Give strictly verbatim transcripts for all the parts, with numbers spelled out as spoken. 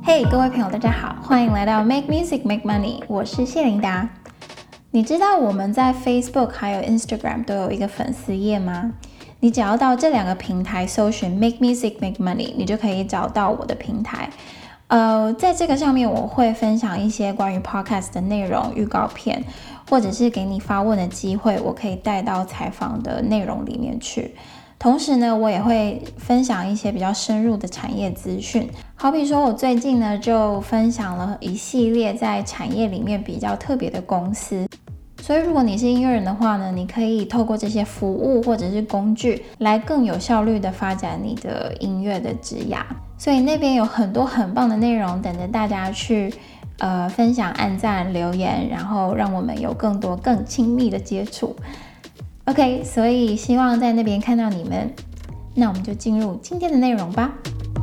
嘿、hey, 各位朋友大家好，歡迎來到 Make Music Make Money， 我是謝琳達。你知道我們在 Facebook 還有 Instagram 都有一個粉絲頁嗎？你只要到這兩個平台搜尋 Make Music Make Money， 你就可以找到我的平台。呃，在這個上面我會分享一些關於 Podcast 的內容、預告片，或者是給你發問的機會，我可以帶到採訪的內容裡面去。同時呢，我也會分享一些比較深入的產業資訊，好比說我最近呢就分享了一系列在產業裡面比較特別的公司。所以如果你是音樂人的話呢，你可以透過這些服務或者是工具來更有效率的發展你的音樂的職涯。所以那邊有很多很棒的內容等着大家去呃分享、按讚、留言，然後讓我們有更多更親密的接觸。OK， 所以希望在那邊看到你們。那我們就進入今天的內容吧。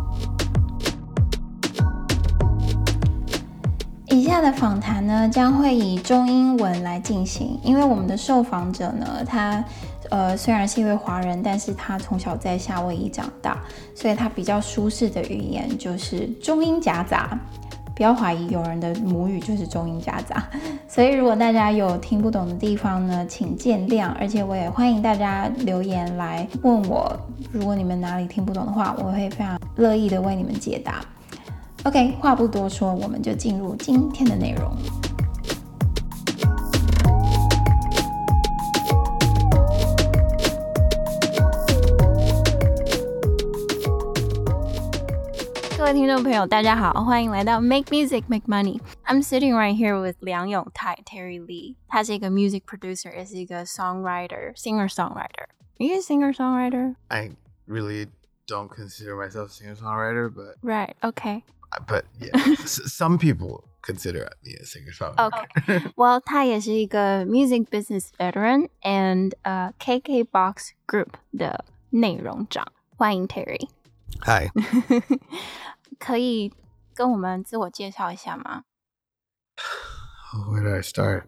以下的訪談呢，將會以中英文來進行，因為我們的受訪者呢，他呃雖然是一位華人，但是他從小在夏威夷長大，所以他比較舒適的語言就是中英夾雜。不要懷疑，有人的母語就是中英夾雜，所以如果大家有聽不懂的地方呢，請見諒，而且我也歡迎大家留言來問我，如果你們哪裡聽不懂的話，我會非常樂意的為你們解答。OK， 話不多說，我們就進入今天的內容。各位聽眾朋友，大家好，歡迎來到 Make Music Make Money。I'm sitting right here with 梁永泰 Terry Lee。他是一個 music producer， 也是一個 songwriter, singer-songwriter. Are you a singer-songwriter? I really don't consider myself a singer-songwriter, but right, okay. But yeah, some people consider me a singer-songwriter. Okay. Well, 他也是一個 music business veteran and uh, K K Box Group 的內容長。歡迎 Terry。 Hi。 可以跟我們自我介紹一下嗎？ Where did I start?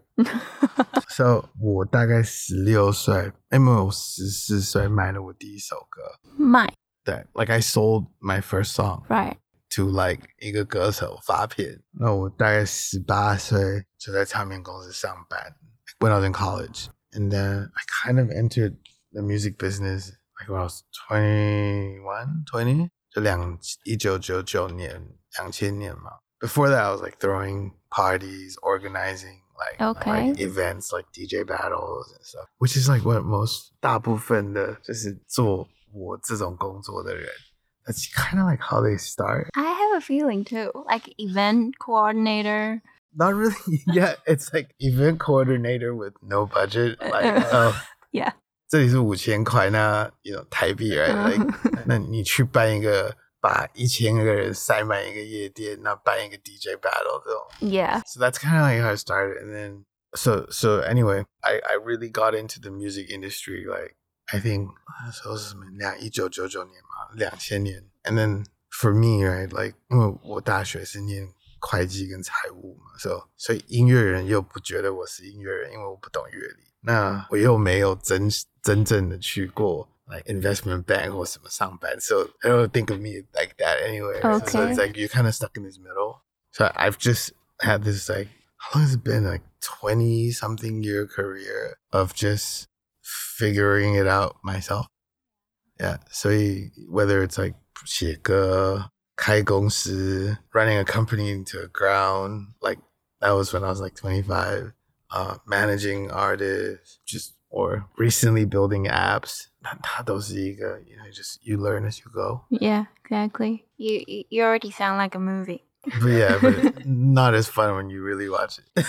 So 我大概十六歲，因為我十四歲買了我第一首歌。 買？對 ，like I sold my first song. Right. To like 一個歌手發片。那我大概十八歲就在唱片公司上班。When I was in college, and then I kind of entered the music business like when I was twenty-one, twenty. 就兩一九九九年兩千年嘛。Before that, I was like throwing parties, organizing like, okay. like events like D J battles and stuff, which is like what most 大部分的就是做我這種工作的人。That's kind of like how they start. I have a feeling too, like event coordinator. Not really. Yeah, it's like event coordinator with no budget. Like, oh, yeah. 這裡是五千塊，那 you know 台幣 right? Like, 那你去辦一個，把一千個人塞滿一個夜店，那辦一個 D J battle 這種。 Yeah. So that's kind of like how I started, and then so so anyway, I I really got into the music industry like I think 那時候是什麼兩一九九九年嘛，兩千年。And then for me, right, like 因為我大學是念會計跟財務嘛，所以所以音樂人又不覺得我是音樂人，因為我不懂樂理。那我又沒有真真正的去過 like investment bank 或什麼上班 so I don't think of me like that anyway. Okay. So it's like you're kind of stuck in this middle. So I've just had this like, how long has it been? Like twenty something year career of just figuring it out myself. Yeah. So whether it's like 寫歌、開公司 running a company into the ground, like that was when I was like twenty-five. Uh, managing artists, just or recently building apps. 它都是一個 you know, just you learn as you go. Yeah, exactly. You you already sound like a movie. But yeah, but not as fun when you really watch it.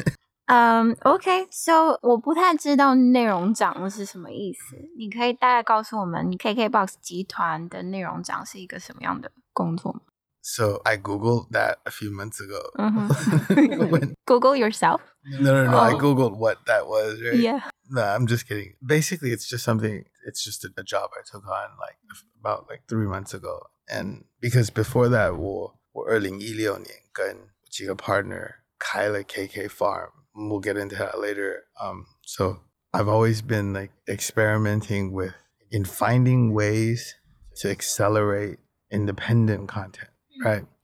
um, okay, so 我不太知道內容長是什麼意思。你可以大概告訴我們 K K Box 集團的內容長是一個什麼樣的工作嗎？ So I Googled that a few months ago. Mm-hmm. when, Google yourself? No, no, no. Oh. I Googled what that was, right? Yeah. No, I'm just kidding. Basically, it's just something, it's just a, a job I took on like about like three months ago. And because before that, 我我二零一六年跟幾個 partner 開了 K K Farm. We'll get into that later. Um, so I've always been like experimenting with in finding ways to accelerate independent content. Right.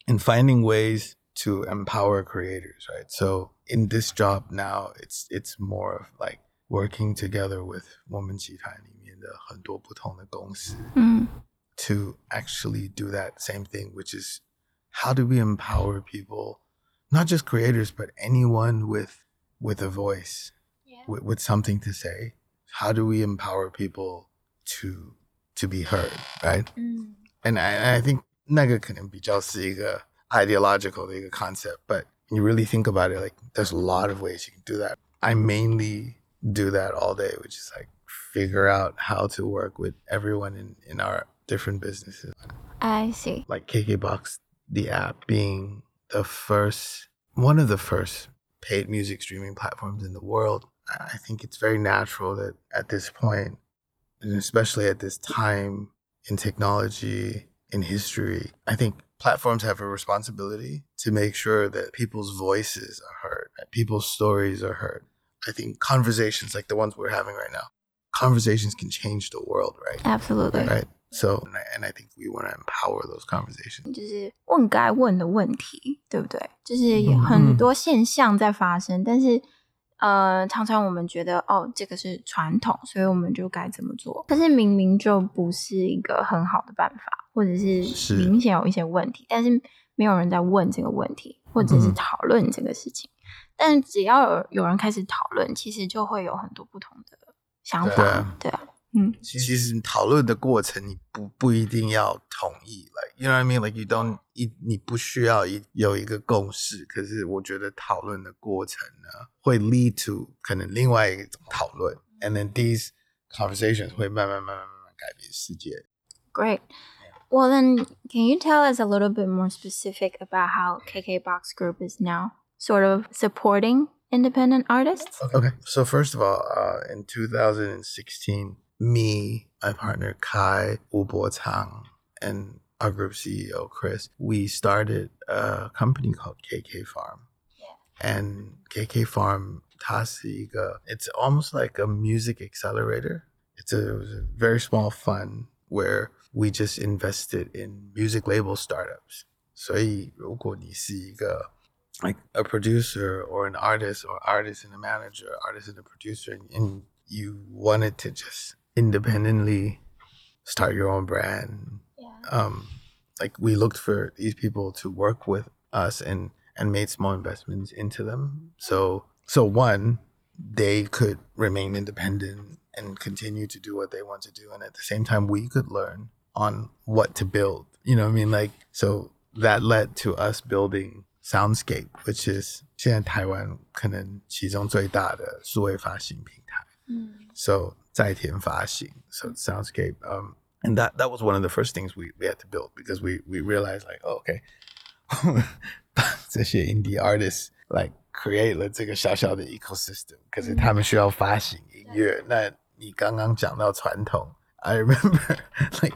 in finding ways to empower creators, right? So in this job now, it's it's more of like working together with 我們集團裡面的很多不同的公司 mm. to actually do that same thing, which is how do we empower people, not just creators, but anyone with with a voice, yeah. with, with something to say. How do we empower people to to be heard, right? Mm. And I, I think 那個可能比較是一個 ideological 的一個 concept, but you really think about it, like there's a lot of ways you can do that. I mainly do that all day, which is like figure out how to work with everyone in, in our different businesses. I see. Like KKBOX, the app being the first, one of the first paid music streaming platforms in the world. I think it's very natural that at this point, and especially at this time in technology, in history, I think platforms have a responsibility to make sure that people's voices are heard, that people's stories are heard. I think conversations like the ones we're having right now, conversations can change the world, right? Absolutely. Right. So, and I, and I think we want to empower those conversations. 就是问該問的問題，对不对？就是有很多現象在發生，嗯、但是呃，常常我們覺得哦，這個是傳統，所以我們就該怎麼做？可是明明就不是一個很好的辦法，或者是明顯有一些問題，但是沒有人在問這個問題，或者是討論這個事情。嗯、但只要有有人開始討論，其實就會有很多不同的想法，對啊。對啊嗯， 其實討論的過程你不不一定要同意 like you know what I mean, like you don't 一你不需要一有一個共識，可是我覺得討論的過程呢會 lead to 可能另外一種討論 and then these conversations 會慢慢慢慢慢慢改變世界。 Great. Well then, can you tell us a little bit more specific about how KKBOX Group is now sort of supporting independent artists? Okay, so first of all, uh, in two thousand sixteen, me, my partner Kai, Wu Bo-Tang, and our group C E O Chris, we started a company called K K Farm. Yeah. And K K Farm, 它是一個, it's almost like a music accelerator. It's a, it was a very small fund where we just invested in music label startups. 所以如果你是一個 like a producer or an artist or artist and a manager, artist and a producer, and you wanted to just independently start your own brand. Yeah. Um, like we looked for these people to work with us and, and made small investments into them. So, so one, they could remain independent and continue to do what they want to do. And at the same time, we could learn on what to build, you know what I mean? Like, so that led to us building Soundscape, which is 现在台湾可能其中最大的數位發行平台。Mm. So 在田發行, so Soundscape, um, and that that was one of the first things we, we had to build because we we realized like, oh, okay, 這些 indie artists like create 了這個小小的 ecosystem， 可是他們需要發行音樂。那你剛剛講到傳統 I remember like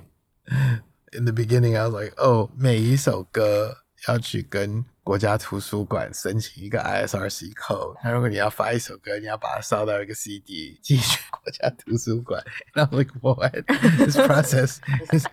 in the beginning I was like, oh, 每一首歌要去跟國家圖書館申請一個 I S R C code， 那如果你要發一首歌，你要把它燒到一個 C D 寄去國家圖書館。And I'm like, what? This process is...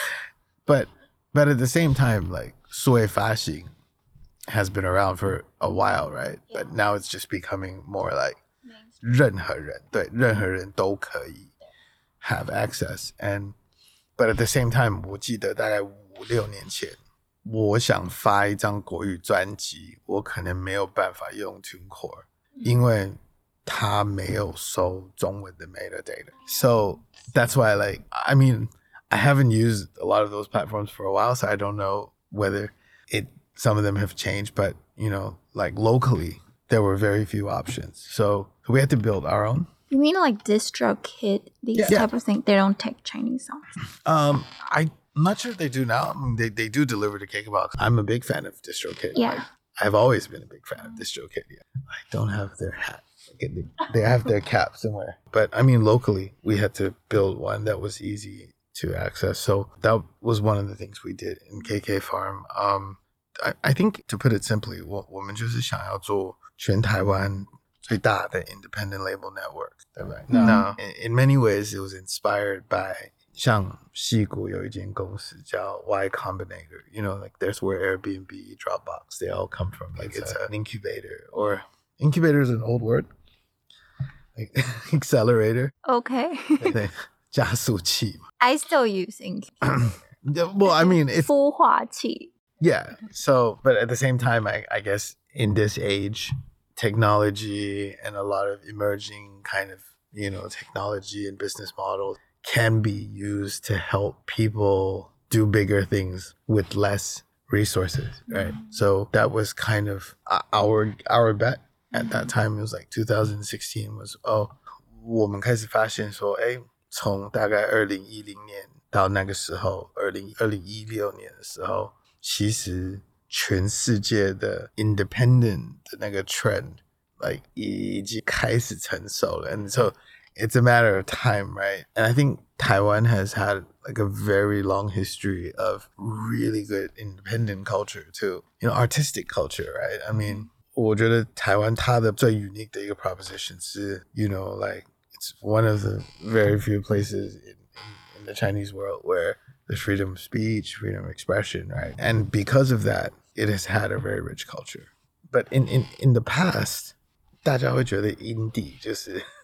But, but at the same time, like, 數位發行 has been around for a while, right? Yeah. But now it's just becoming more like 任何人，對，任何人都可以 have access. And, but at the same time, 我記得大概五六年前，我想發一張國語專輯，我可能沒有辦法用 TuneCore， 因為它沒有收中文的 metadata. So that's why, like, I mean, I haven't used a lot of those platforms for a while, so I don't know whether it some of them have changed. But you know, like locally, there were very few options, so we had to build our own. You mean like DistroKid, these yeah. type of things? They don't take Chinese songs. Um, I. I'm not sure if they do now. I mean, they, they do deliver to KKBOX. I'm a big fan of DistroKid. Yeah. Like, I've always been a big fan of DistroKid. Yeah. I don't have their hat. Like, they, they have their cap somewhere. But I mean, locally, we had to build one that was easy to access. So that was one of the things we did in K K Farm. Um, I, I think, to put it simply, 我, 我們就是想要做全台灣最大的 independent label network. Right? Mm-hmm. Now, in, in many ways, it was inspired by 像矽谷有一間公司叫 Y Combinator, you know, like there's where Airbnb, Dropbox, they all come from. Like it's an incubator, or incubator is an old word, like accelerator. Okay. 对，加速器。 I still use incubator. Well, I mean, it's 孵化器。 Yeah. So, but at the same time, I, I guess in this age, technology and a lot of emerging kind of, you know, technology and business models can be used to help people do bigger things with less resources, right? Mm-hmm. So that was kind of our our bet at that time. It was like two thousand sixteen was, oh, 我们開始發現說，哎，從大概二零一零年到那個時候，二零二零一六年的時候，其實全世界的 independent 的那個 trend like 已經開始成熟了 and so it's a matter of time, right? And I think Taiwan has had like a very long history of really good independent culture too, you know, artistic culture, right? I mean, 我覺得台灣它的最 unique 的一個 proposition 是 you know, like it's one of the very few places in, in, in the Chinese world where there's freedom of speech, freedom of expression, right? And because of that, it has had a very rich culture. But in, in, in the past, 大家會覺得 indie 就是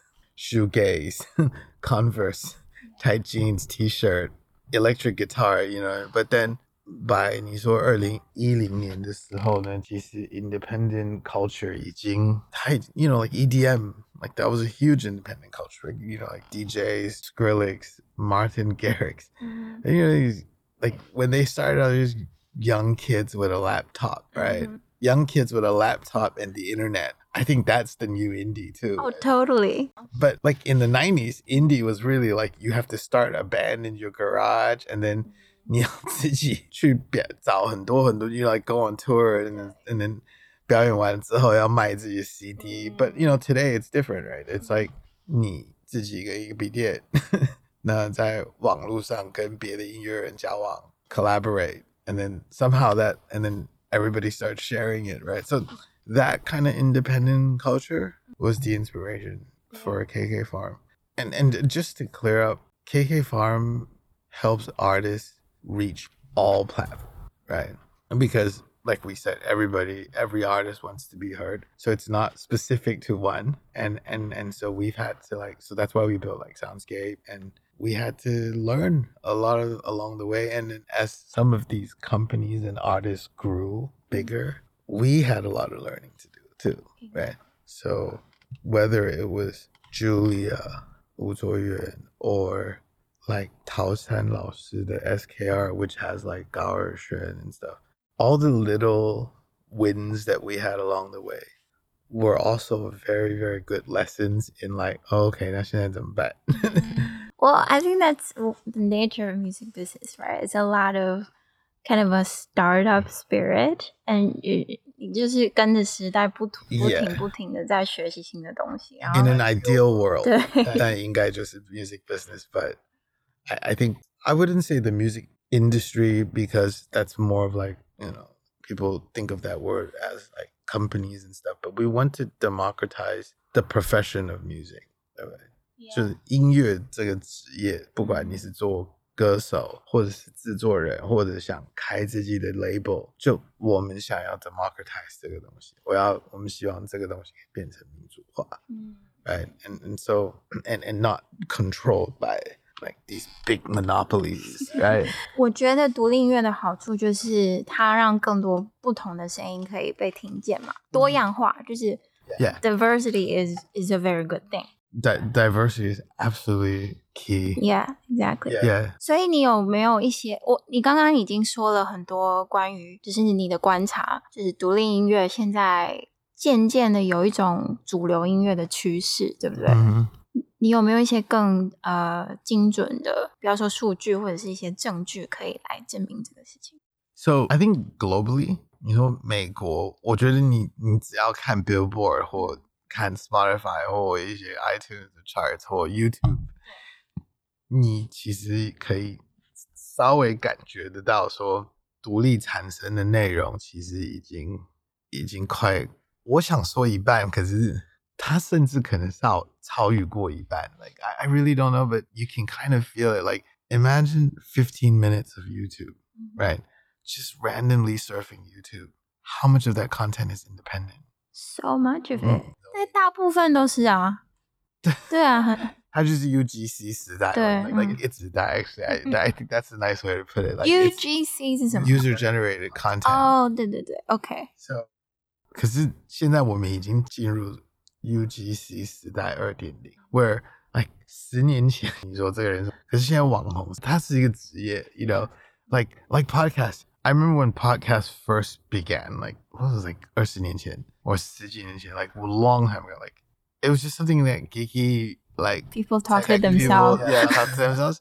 shoegaze, Converse, tight jeans, t-shirt, electric guitar, you know. But then by 你說二零一零年的時候呢，其實 independent culture 已經太 you know, like E D M, like that was a huge independent culture, you know, like D Js, Skrillex, Martin Garrix. Mm-hmm. And, you know, these, like when they started out, there's young kids with a laptop, right? Mm-hmm. Young kids with a laptop and the internet. I think that's the new indie too. Oh, totally. But like in the nineties, indie was really like you have to start a band in your garage and then 你要自己去找很多很多 you like go on tour and then, and then 表演完之後要賣自己的 C D. But you know, today it's different, right? It's like 你自己一個一個筆電那在網絡上跟別的音樂人交往 collaborate and then somehow that and then everybody starts sharing it, right? So that kind of independent culture was the inspiration for K K Farm. And and just to clear up, K K Farm helps artists reach all platforms, right? And because like we said, everybody, every artist wants to be heard. So it's not specific to one. And and and so we've had to like, so that's why we built like Soundscape, and we had to learn a lot of along the way. And as some of these companies and artists grew bigger, we had a lot of learning to do too, right? So whether it was Julia, Wu Zuoyuan, or like Tao San Lao Shi, the S K R, which has like Gao Erxuan and stuff, all the little wins that we had along the way were also very, very good lessons in like, oh, okay, 那現在怎麼辦? Well, I think that's the nature of music business, right? It's a lot of kind of a startup spirit, and 你就是跟着時代不不停不停的在學習新的東西。Yeah. In an ideal world, 但應該就是 music business, but I, I think I wouldn't say the music industry because that's more of like, you know, people think of that word as like companies and stuff, but we want to democratize the profession of music. Right? Yeah. 就是音樂這個職業，不管你是做歌手，或者是製作人，或者想開自己的 label， 就我們想要 democratize 這個東西，我要我們希望這個東西可以變成民主化，嗯 right? And and so and and not controlled by like these big monopolies, right? 我覺得獨立音樂的好處就是它讓更多不同的聲音可以被聽見嘛，多樣化就是 yeah. diversity is is a very good thing. Di- diversity is absolutely key. Yeah, exactly. Yeah. 所以你有沒有一些我你剛剛已經說了很多關於就是你的觀察，就是獨立音樂現在漸漸的有一種主流音樂的趨勢，對不對？嗯你有沒有一些更呃精準的，比方說數據或者是一些證據可以來證明這個事情 ？So I think globally, 你說美國，我覺得你你只要看 Billboard 或看 Spotify 或一些 iTunes 的 charts 或 YouTube， 你其實可以稍微感覺得到說，獨立產生的內容其實已經已經快，我想說一半，可是。它甚至可能超超越過一半 like I, I really don't know, but you can kind of feel it like imagine fifteen minutes of YouTube, right? Just randomly surfing YouTube. How much of that content is independent? So much of it. 但大部分都是啊。对啊。 它就是 U G C 時代。 对。 Like, like 一直代 actually. I, I think that's a nice way to put it. Like U G C 是什麼 ？User generated content. 哦，对对对 ，OK. So, 可是現在我們已經進入 U G C 時代 二點零 where like 十年前你說這個人，可是現在網紅他是一個職業 you know like like podcast. I remember when podcasts first began, like what was it, like 二十年前 or 十幾年前 like a long time ago. Like it was just something that geeky like people talk to themselves. People, yeah, talk to themselves.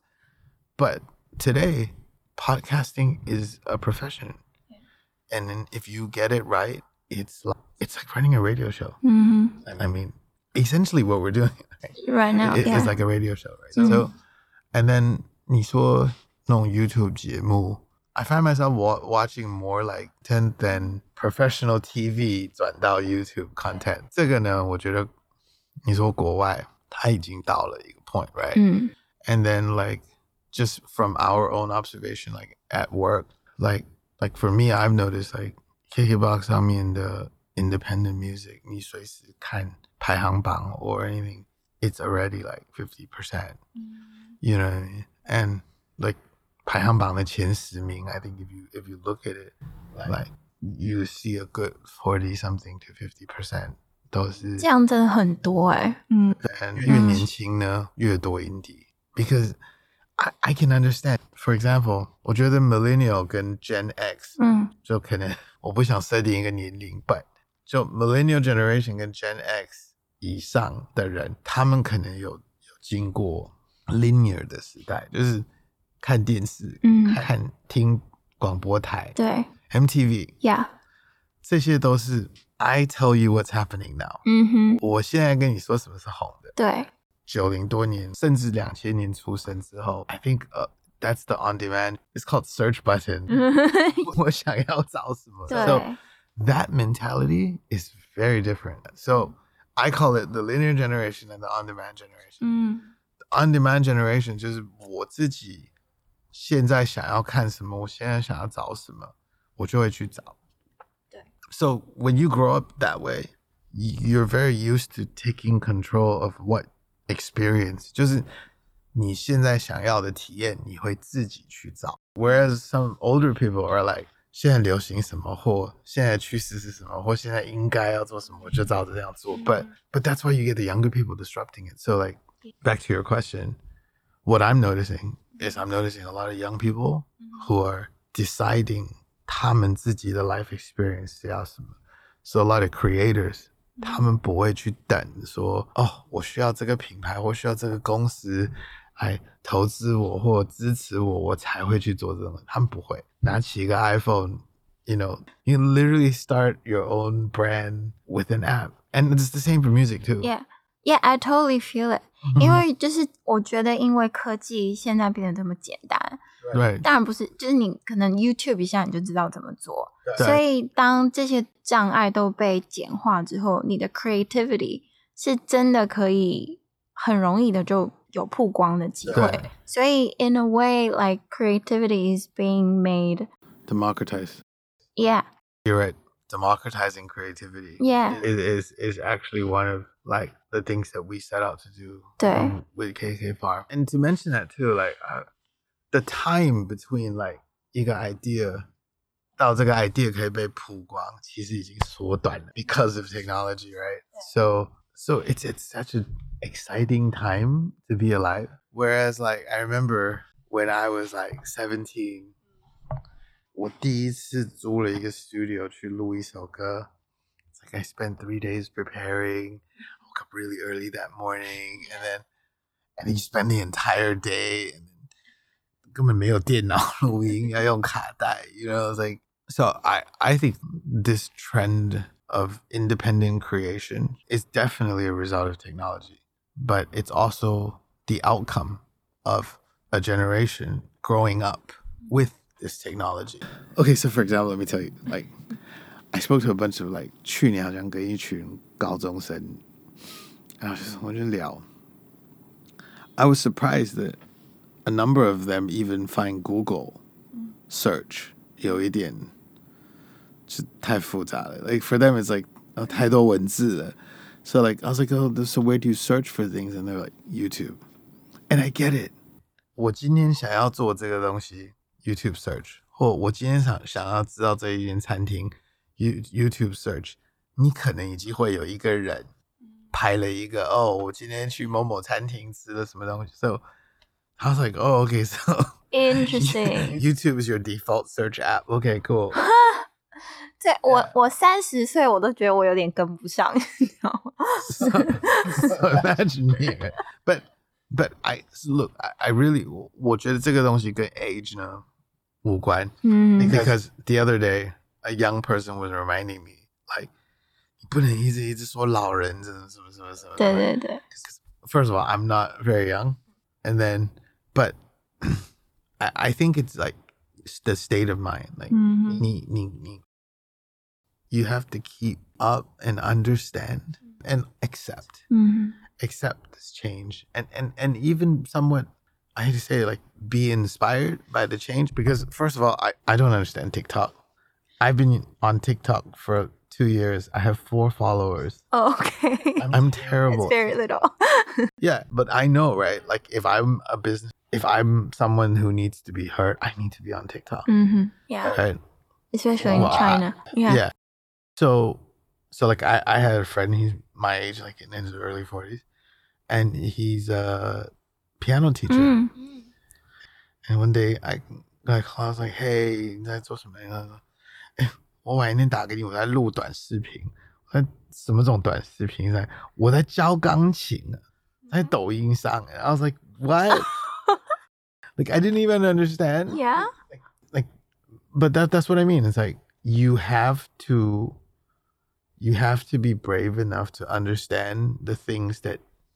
But today, podcasting is a profession, yeah. And then if you get it right, it's like, it's like running a radio show. Mm-hmm. I mean, essentially what we're doing right, right now it, yeah. is like a radio show, right? Mm-hmm. So, and then 你說那種 YouTube 節目 I find myself wa- watching more like than than professional T V 轉到 YouTube content. 這個呢，我覺得你說國外它已經到了一個 point, right? Mm. And then like just from our own observation, like at work, like like for me, I've noticed like K K B O X 上面的 independent music, 你隨時看排行榜 or anything, it's already like fifty percent. Mm. You know what I mean? And like 排行榜的前十名, I think if you if you look at it, like, like you see a good forty something to fifty percent 都是這樣真的很多哎，嗯， 越年輕呢越多 indie because I I can understand. For example, 我覺得 millennial 跟 Gen X, 嗯，就可能我不想設定一個年齡 but 就 millennial generation 跟 Gen X 以上的人，他們可能有有經過 linear 的時代，就是看電視，嗯，看聽廣播台，對 ，M T V, yeah, 這些都是 I tell you what's happening now. 嗯哼，我現在跟你說什麼是紅的，對，九零多年甚至兩千年出生之後 I think、uh, that's the on demand. It's called search button. 我想要找什麼，對 so that mentality is very different. So I call it the linear generation and the on demand generation. 嗯 The on demand generation 就是我自己現在想要看什麼，我現在想要找什麼，我就會去找。對 So when you grow up that way, you're very used to taking control of what experience. 就是你現在想要的體驗，你會自己去找。Whereas some older people are like, 現在流行什麼，或現在趨勢是什麼，或現在應該要做什麼，我就照着這樣做。But but that's why you get the younger people disrupting it. So like back to your question, what I'm noticing is I'm noticing a lot of young people who are deciding 他們自己的 life experience 是要什麼。So a lot of creators, 他們不會去等說，哦，我需要這個品牌，我需要這個公司來投資我或支持我，我才會去做這種。他們不會拿起一個 iPhone, you know, you literally start your own brand with an app. And it's the same for music too. Yeah, yeah, I totally feel it. 因為就是我覺得因為科技現在變得這麼簡單， 對， 當然不是，就是你可能 YouTube 一下你就知道怎麼做，所以當這些障礙都被簡化之後，你的 creativity 是真的可以很容易的就有曝光的機會，所以 in a way like creativity is being made democratized. Yeah, you're right. Democratizing creativity, yeah, is is is actually one of like the things that we set out to do um, with K K Farm. And to mention that too, like uh, the time between like 一個 idea 到這個 idea 可以被曝光，其實已經縮短了 because of technology, right? So so it's it's such an exciting time to be alive. Whereas like I remember when I was like seventeen. 我第一次租了一個 studio 去錄一首歌 It's like I spent three days preparing. I woke up really early that morning, and then and then you spend the entire day, and then 根本沒有電腦錄音，要用卡帶 you know, it's like so I I think this trend of independent creation is definitely a result of technology, but it's also the outcome of a generation growing up with this technology. Okay, so for example, let me tell you, like, I spoke to a bunch of like 去年好像跟一群高中生，然後就是我就聊 I was surprised that a number of them even find Google search 有一点就太复杂了. Like for them, it's like 太多文字了. So like I was like, oh, so where do you search for things? And they're like YouTube. And I get it. 我今天想要做這個東西 YouTube search， 或我今天想想要知道這一間餐廳 YouTube search， 你可能已經會有一個人拍了一個哦，我今天去某某餐廳吃了什麼東西。So I was like, oh, okay, so interesting. YouTube is your default search app. Okay, cool. 对，我我三十歲我都覺得我有點跟不上，你知道嗎 so, so imagine me. But but I look, I, I really 我覺得這個東西跟 age 呢無關。Mm. Because the other day a young person was reminding me like 你不能一直一直說老人什麼什麼什麼什麼。對對對。First of all, I'm not very young, and then but I I think it's like the state of mind. Like mm-hmm. 你你你 you have to keep up and understand and accept mm-hmm. accept this change and and and even somewhat I hate to say like be inspired by the change, because first of all I, I don't understand TikTok. I've been on TikTok for two years. I have four followers. Oh, okay. I'm, I'm terrible. It's very little. Yeah, but I know, right? Like if I'm a business, if I'm someone who needs to be heard, I need to be on TikTok. Mm-hmm. Yeah. Right? Especially well, in China. I, yeah. Yeah. So, so like I, I had a friend, he's my age, like in his early forties, and he's a piano teacher. Mm. And one day I, like, I was like, hey, 你在做什么？哎，我晚一天打給你，我在錄短視頻。我在什麼種短視頻？在我在教鋼琴，在抖音上。I was like, what? Like I didn't even understand. Yeah. Like, like, but that that's what I mean. It's like you have to. You have to be brave enough to understand the things that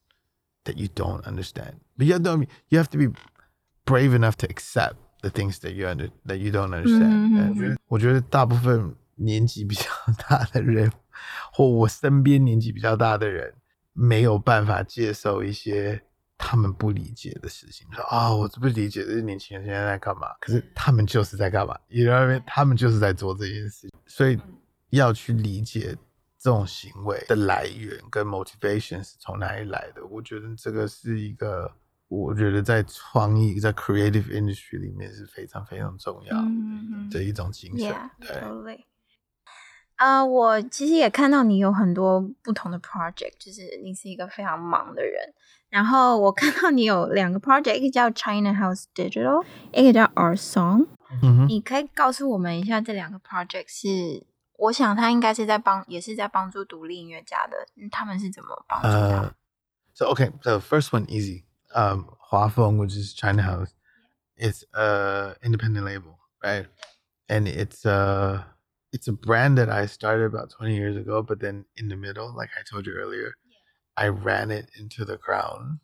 that you don't understand. But you have to, you have to be brave enough to accept the things that you under that you don't understand. Mm-hmm. 我覺得大部分年紀比較大的人，或我身邊年紀比較大的人，沒有辦法接受一些他們不理解的事情。說啊、哦，我不理解這些年輕人現在在幹嘛？可是他們就是在幹嘛？ You know what I mean? 他們就是在做這件事情。所以要去理解這種行為的來源跟 motivation 是從哪裡來的，我覺得這個是一個，我覺得在創意在 creative industry 裡面是非常非常重要的一種精神。 Yeah, totally. 啊、uh, 我其實也看到你有很多不同的 project， 就是你是一個非常忙的人。然後我看到你有兩個 project， 一個叫 China House Digital， 一個叫 Our Song。嗯，你可以告訴我們一下這兩個 project 是？我想他應該是在幫，也是在幫助獨立音樂家的。他們是怎麼幫助他們？ Uh, so okay, so first one easy. Um, 華豐, which is China House, it's a independent label, right? And it's a it's a brand that I started about twenty years ago. But then in the middle, like I told you earlier, I ran it into the ground.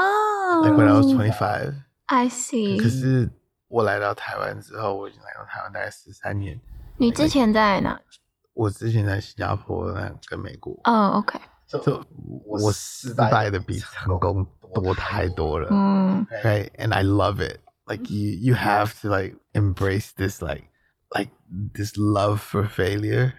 Oh, like when I was twenty-five. I see. 可是我來到台灣之後，我已經來到台灣大概十三年。 你之前在哪？ 我之前在新加坡跟美國。 哦、oh, OK。 So 我失敗的比成功多太多了。嗯。Right, and I love it. Like you, you have to like embrace this like like this love for failure.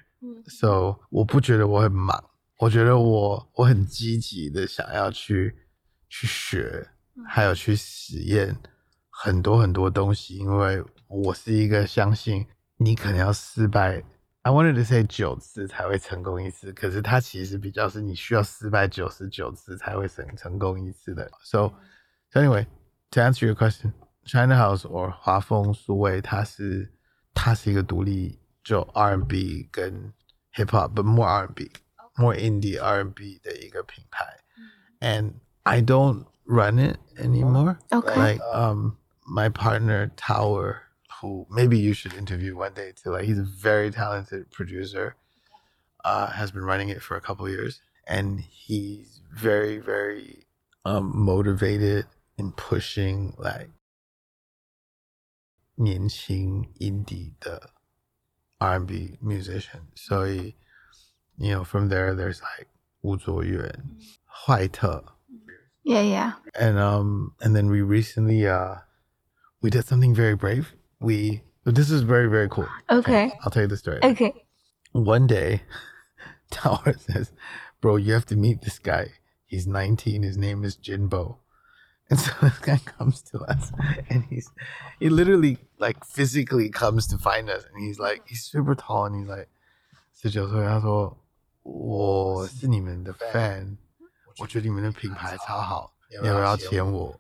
So 我不覺得我很忙，我覺得我我很積極的想要去去學，還有去實驗很多很多東西，因為我是一個相信你可能要失敗。I wanted to say 九次才會成功一次，可是它其實比較是你需要失敗九十九次才會成成功一次的。So, so anyway, to answer your question, China House or 華豐數位，它是它是一個獨立就 R and B 跟 Hip Hop, but more R and B, more indie R and B 的一個品牌。And I don't run it anymore. Okay. Like um, my partner Tower, who maybe you should interview one day too. Like he's a very talented producer, uh, has been running it for a couple of years, and he's very, very um, motivated in pushing like 年輕 indie 的 R and B musician. So, he, you know, from there, there's like 吳卓源, 壞特. Yeah, yeah. And um, and then we recently uh. we did something very brave. We this is very very cool. Okay, I'll tell you the story. Okay. One day, Tower says, "Bro, you have to meet this guy. He's nineteen. His name is Jinbo." And so this guy comes to us, and he's he literally like physically comes to find us, and he's like he's super tall, and he's like 十九岁，他说我是你们的 fan， 我覺得你們的品牌超好，你要不要簽我？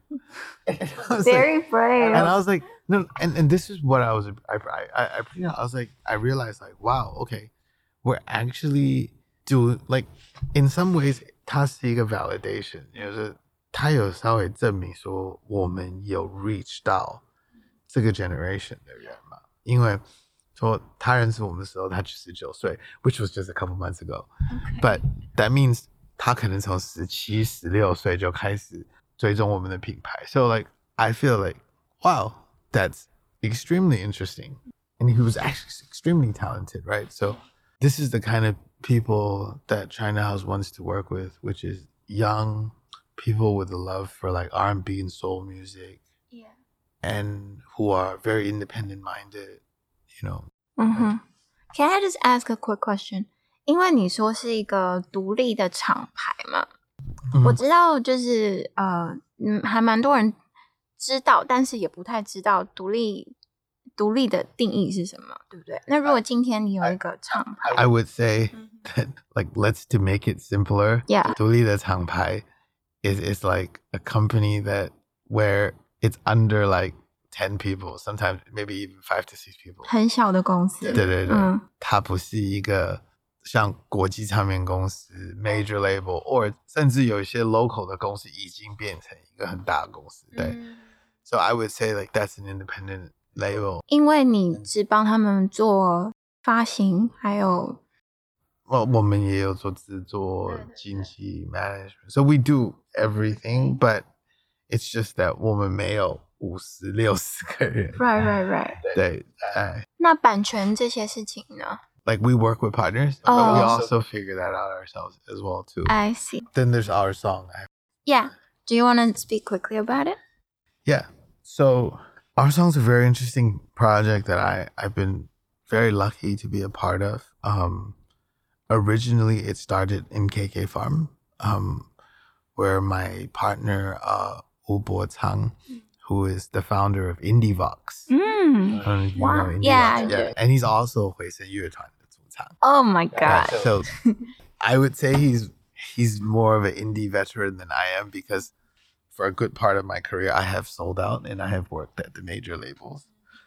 Very like, brave. And I was like, no, and, and this is what I was, I, I, I, I was like, I realized like, wow, okay, we're actually doing, like, in some ways, 它是一個 validation， 就是它有稍微證明說我們有 reach 到這個 generation 的人嘛，因為說他認識我們的時候，他十九歲 ，which was just a couple months ago. Okay. But that means 他可能從十七、十六歲就開始追蹤我們的品牌。So like I feel like wow, that's extremely interesting, and he was actually extremely talented, right? So this is the kind of people that China House wants to work with, which is young people with a love for like R and B and soul music, yeah, and who are very independent minded. You know. Mm-hmm. Can I just ask a quick question? 因為你說是一個獨立的廠牌嘛，嗯、我知道就是呃，嗯，還蠻多人知道，但是也不太知道獨立獨立的定義是什麼，對不對？那如果今天你有一個廠牌 I, I would say that like let's to make it simpler. Yeah. 獨立的廠牌 is is like a company that where it's under like ten people, sometimes maybe even five to six people. 很小的公司。 对对对， 嗯， 它不是一個像國際唱片公司 major label， 或甚至有一些 local 的公司已經變成一個很大的公司。對、嗯、，So I would say like that's an independent label. 因為你只幫他們做發行，還有， 我我們也有做製作、經紀 management. So we do everything, but it's just that 我們沒有五十六十個人 right right right 對哎那版權這些事情呢 like we work with partners oh. but we also figure that out ourselves as well too. I see. Then there's our song. Yeah, do you want to speak quickly about it? Yeah, so our song's a very interesting project that I I've been very lucky to be a part of. Um originally it started in K K Farm, um where my partner uh Wu Bo Chang, who is the founder of Indievox. Mm. I don't know if you wow. know Indievox. Yeah, yeah. And he's also 回聲樂團的主唱. Oh my god. Right, so I would say he's he's more of an indie veteran than I am, because for a good part of my career I have sold out and I have worked at the major labels.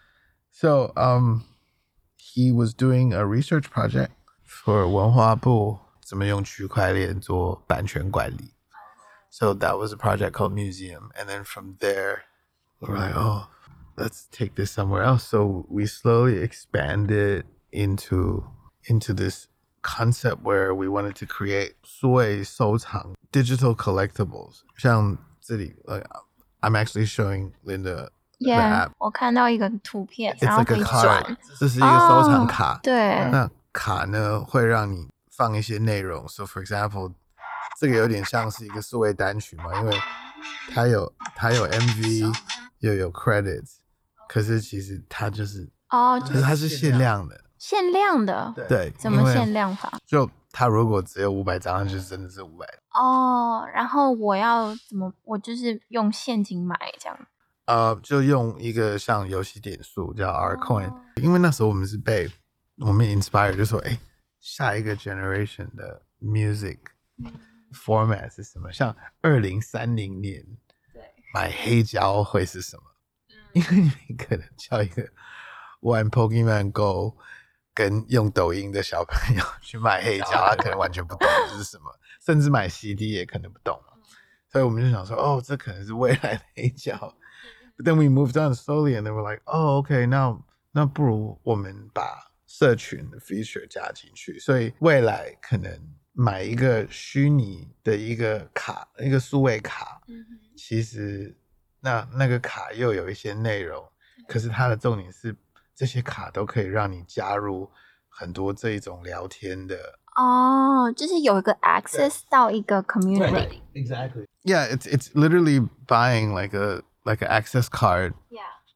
So um he was doing a research project for 文化部怎麼用區塊鏈做版權管理. So that was a project called Museum. And then from there, we were like, oh, let's take this somewhere else. So we slowly expanded into into this concept where we wanted to create 數位收藏 digital collectibles. 像這裡, like, I'm actually showing Linda yeah, the app. 我看到一個圖片, It's 然後 like 可以 a 轉。 card. 這是一個收藏卡。 Oh, 對。 那卡呢，會讓你放一些內容. So for example, 這個有點像是一個數位單曲嘛，因為它有它有 M V 又有 credits， 可是其實它就是哦， 可是它是限量的， 限量的， 對， 怎麼限量法？ 就它如果只有五百張，它就真的是五百。 哦，然後我要怎麼？我就是用現金買這樣。 呃，就用一個像遊戲點數叫 R Coin，哦，因為那時候我們是被我們 inspire， 就說哎，下一個 generation 的 music。嗯format 是什麼？像二零三零年買黑膠會是什麼？因為你可能叫一個玩 Pokemon Go 跟用抖音的小朋友去買黑膠，他可能完全不懂這是什麼，甚至買 C D 也可能不懂。所以我們就想說，哦，這可能是未來的黑膠。But then we moved on slowly and then we're like, oh, okay, 那那不如我們把社群的 feature 加進去，所以未來可能買一個虛擬的一個卡，一個數位卡，嗯，其實那那個卡又有一些內容，嗯，可是它的重點是這些卡都可以讓你加入很多這一種聊天的。 哦，就是有一個 access 到一個 community。 Exactly. Yeah, it's it's literally buying like a like an access card. Yeah.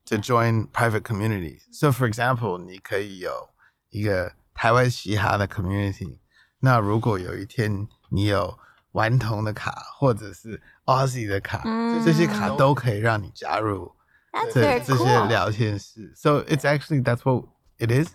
to join private communities. So for example, 你可以有一個台灣嘻哈的 community， 那如果有一天你有頑童的卡或者是 Aussie 的卡，嗯，這些卡都可以讓你加入這這些聊天室。So it's actually that's what it is,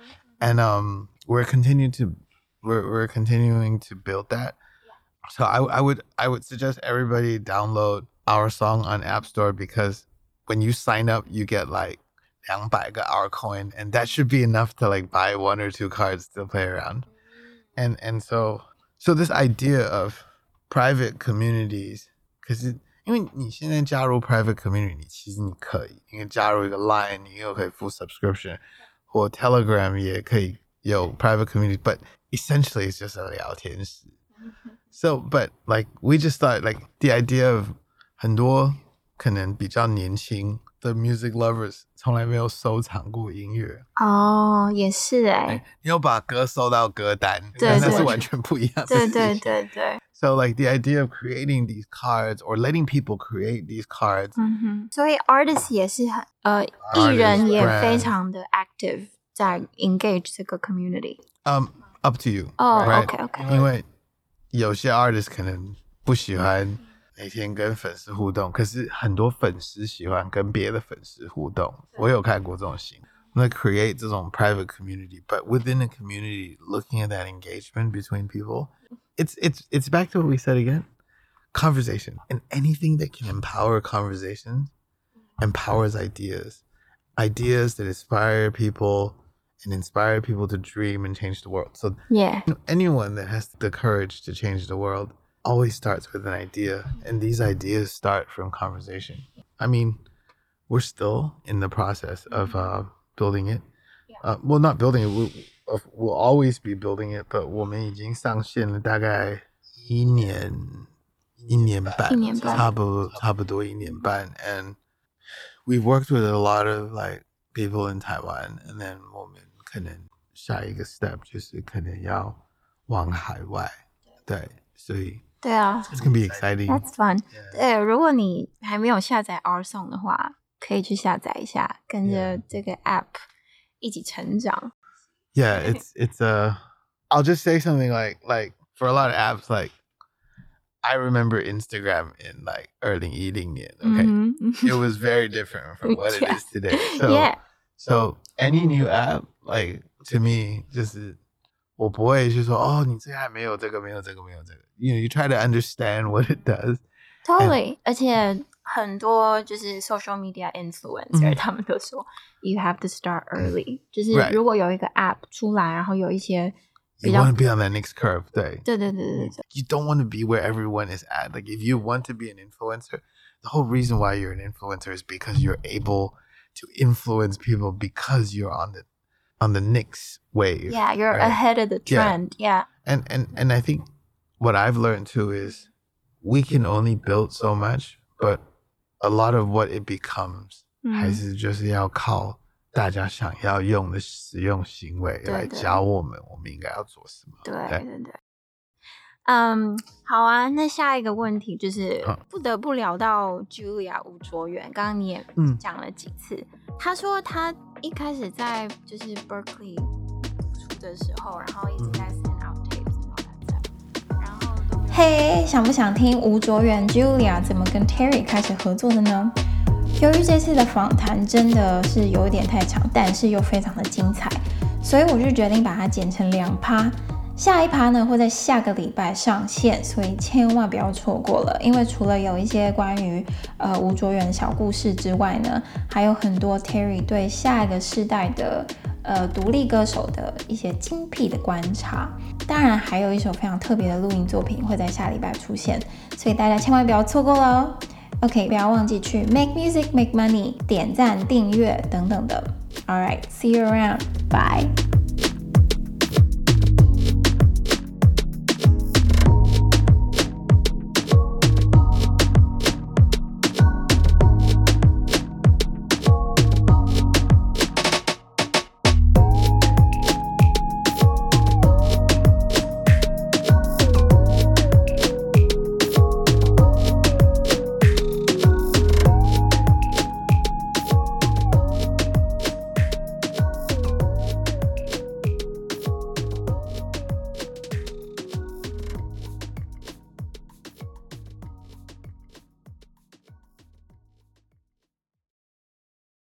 and um we're continuing to we're we're continuing to build that. So I I would I would suggest everybody download our song on App Store because when you sign up you get like two hundred個 our coin, and that should be enough to like buy one or two cards to play around. And and so so this idea of private communities, 可是因為你現在加入 private community， 其實你可以，因為加入一個 Line， 你又可以付 subscription， 或 Telegram 也可以有 private community, but essentially it's just a 聊天室。So, but like we just thought like the idea of 很多可能比較年輕的 music lovers 從來沒有收藏過音樂。 哦，也是哎， 你有把歌收到歌單，但那是完全不一樣的事情。 對對對對。 So like the idea of creating these cards or letting people create these cards. 嗯哼，所以 artist 也是很呃，藝人也非常的 active 在 engage 這個 community。 Um, up to you. 哦 right? OK OK。 因為有些 artist 可能不喜歡每天跟粉絲互動，可是很多粉絲喜歡跟別的粉絲互動。我有看過這種型，那 create 這種 private community, but within a community, looking at that engagement between people, it's it's it's back to what we said again, conversation, and anything that can empower conversations, empowers ideas, ideas that inspire people and inspire people to dream and change the world. So yeah, anyone that has the courage to change the world always starts with an idea, and these ideas start from conversation. I mean, we're still in the process of uh, building it. Uh, well, not building it. We'll, we'll always be building it, but 我們已經上線了大概一年一年半， 一年半， 差不多差不多一年半。And we've worked with a lot of like people in Taiwan, and then 我們可能下一個 step 就是可能要往海外，對，所以。 對啊 ，It's gonna be exciting. That's fun. Yeah. 對，如果你還沒有下載 Our Song 的話，可以去下載一下，跟着這個 app 一起成長。 Yeah, it's it's a. I'll just say something like like for a lot of apps, like I remember Instagram in like 二零一零年. Okay, mm-hmm. It was very different from what it is today. So, yeah. So any new app, like to me, 就是我不會去說哦，你這個還沒有這個，沒有這個，沒有這個。You know, you try to understand what it does. Totally. 而且很多就是 social media influencer、嗯、他們都說 you have to start early、嗯、就是如果有一個 app 出來，然後有一些比較 You want to be on that next curve. 對對對對對對。 You don't want to be where everyone is at. Like if you want to be an influencer, the whole reason why you're an influencer is because you're able to influence people because you're on the on the next wave. Yeah, you're right? ahead of the trend. Yeah. yeah. And and and I think what I've learned too is we can only build so much, but a lot of what it becomes、嗯、還是就是要靠大家想要用的使用行為來教我們我們應該要做什麼。 對對對對。嗯，好啊，那下一個問題就是不得不聊到 Julia 吳卓源，剛剛你也講了幾次、嗯、他說他一開始在就是 Berkeley 出的時候，然後一直在 send out tapes、嗯、然後都嘿、hey, 想不想聽吳卓源 Julia 怎麼跟 Terry 開始合作的呢？由於這次的訪談真的是有一點太長，但是又非常的精彩，所以我就決定把它剪成兩趴。下一趴呢會在下個禮拜上線，所以千萬不要錯過了。因為除了有一些關於呃吳卓源的小故事之外呢，還有很多 Terry 對下一個世代的呃獨立歌手的一些精闢的觀察。當然還有一首非常特別的錄音作品會在下禮拜出現，所以大家千萬不要錯過了。OK， 不要忘記去 Make Music Make Money 點讚訂閱等等的。Alright, see you around. Bye.